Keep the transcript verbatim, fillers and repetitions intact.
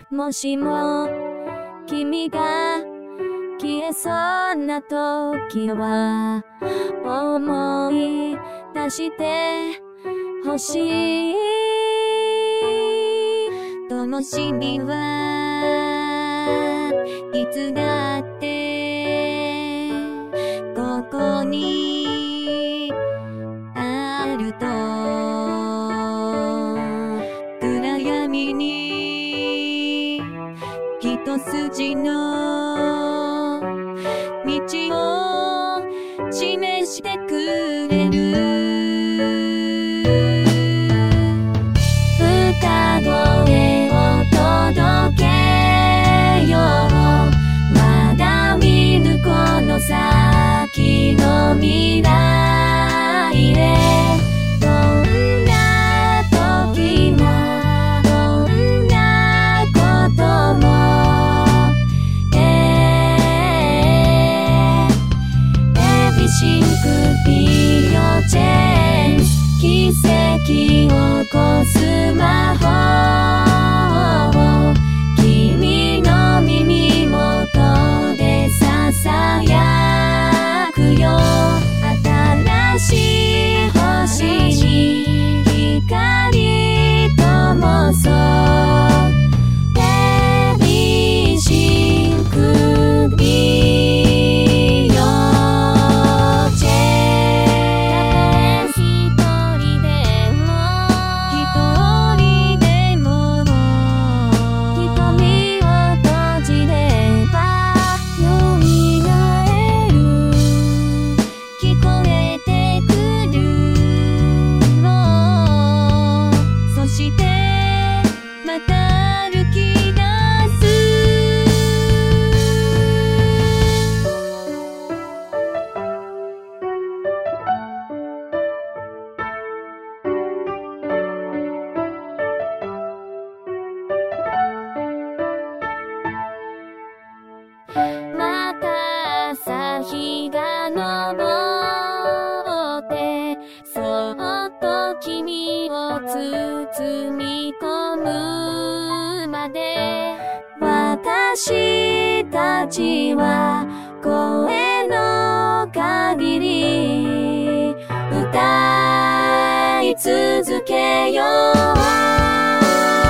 もしも君が消えそうな時は思い出してほしい。灯火はいつだってここにあると、暗闇に一筋の道を示してくれる。歌声を届けよう。まだ見ぬこの先の未来へ。どんな時もどんなこともシンクビヨチェンス、奇跡を起こす魔法を君の耳元でささやくよ。新しい星に光灯そう。ベビーシンクビヨまた朝日が昇ってそっと君を包み込むまで、私たちは声の限り歌い続けよう。